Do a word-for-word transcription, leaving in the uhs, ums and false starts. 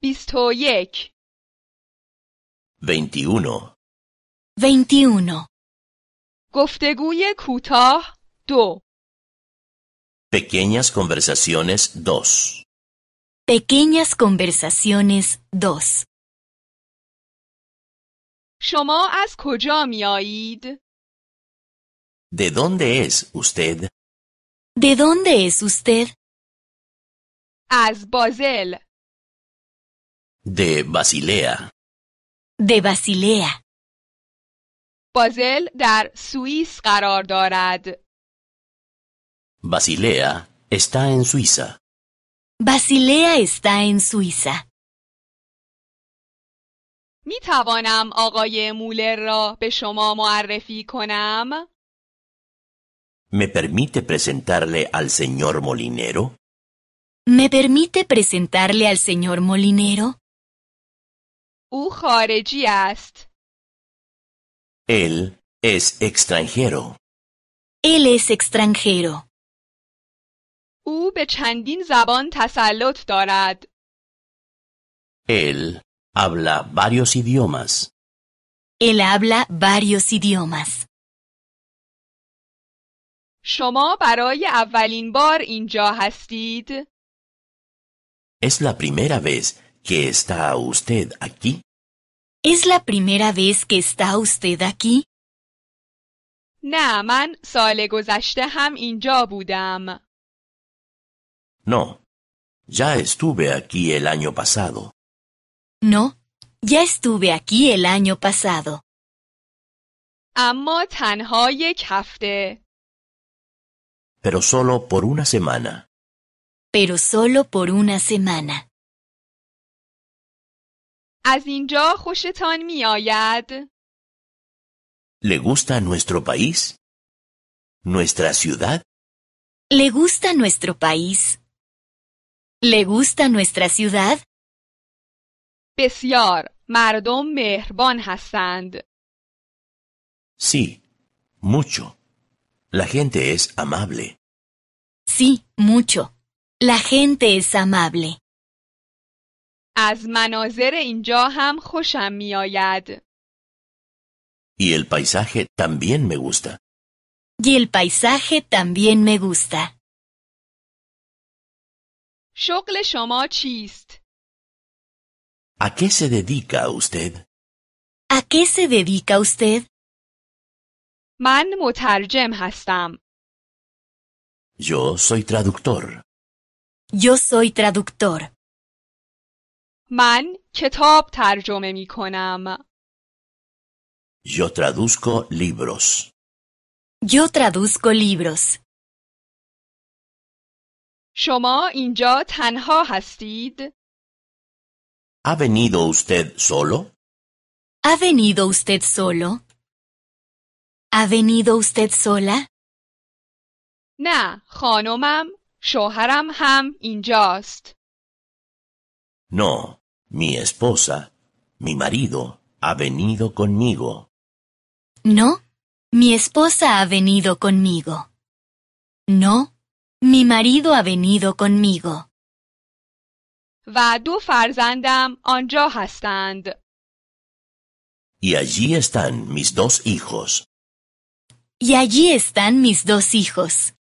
بیست و یک. veintiuno, veintiuno. گفتگوی کوتاه دو. pequeñas conversaciones dos. Pequeñas conversaciones dos. شما از کجا می آیید؟ ¿De dónde es usted? ¿De dónde es usted? از بازل. De Basilea. De Basilea. بازل در سوئیس قرار دارد. Basilea está en Suiza. Basilea está en Suiza. می توانم آقای مولر را به شما معرفی کنم؟ ¿Me permite presentarle al señor Molinero? ¿Me permite presentarle al señor Molinero? او خارجی است. Él es extranjero. Él es extranjero. او به چندین زبان تسلط دارد. Él habla varios idiomas. Él habla varios idiomas. شما برای اولین بار اینجا هستید؟ ¿Es la primera vez que está usted aquí? ¿Es la primera vez que está usted aquí? نه، من سال گذشته هم اینجا بودم. No. Ya estuve aquí el año pasado. No, ya estuve aquí el año pasado. اما تنها یک هفته. Pero solo por una semana. Pero solo por una semana. از اینجا خوشتان می آید؟ ¿Le gusta nuestro país? ¿Nuestra ciudad? ¿Le gusta nuestro país? ¿Le gusta nuestra ciudad? بسیار. مردم مهربان هستند. Sí, mucho. La gente es amable. Sí, mucho. La gente es amable. از مناظر اینجا هم خوشم می آید. Y el paisaje también me gusta. Y el paisaje también me gusta. شغل شما چیست؟ ¿A qué se dedica usted? ¿A qué se dedica usted? من مترجم هستم. Yo soy traductor. Yo soy traductor. من کتاب ترجمه می کنم. Yo traduzco libros. Yo traduzco libros. شما اینجا تنها هستید؟ ¿Ha venido usted solo? ¿Ha venido usted solo? ¿Ha venido usted sola? نه، خانمم، شوهرم هم اینجاست. No, mi esposa, mi marido, ha venido conmigo. No, mi esposa ha venido conmigo. No, mi marido ha venido conmigo. و دو فرزندم آنجا هستند. Y allí están mis dos hijos. Y allí están mis dos hijos.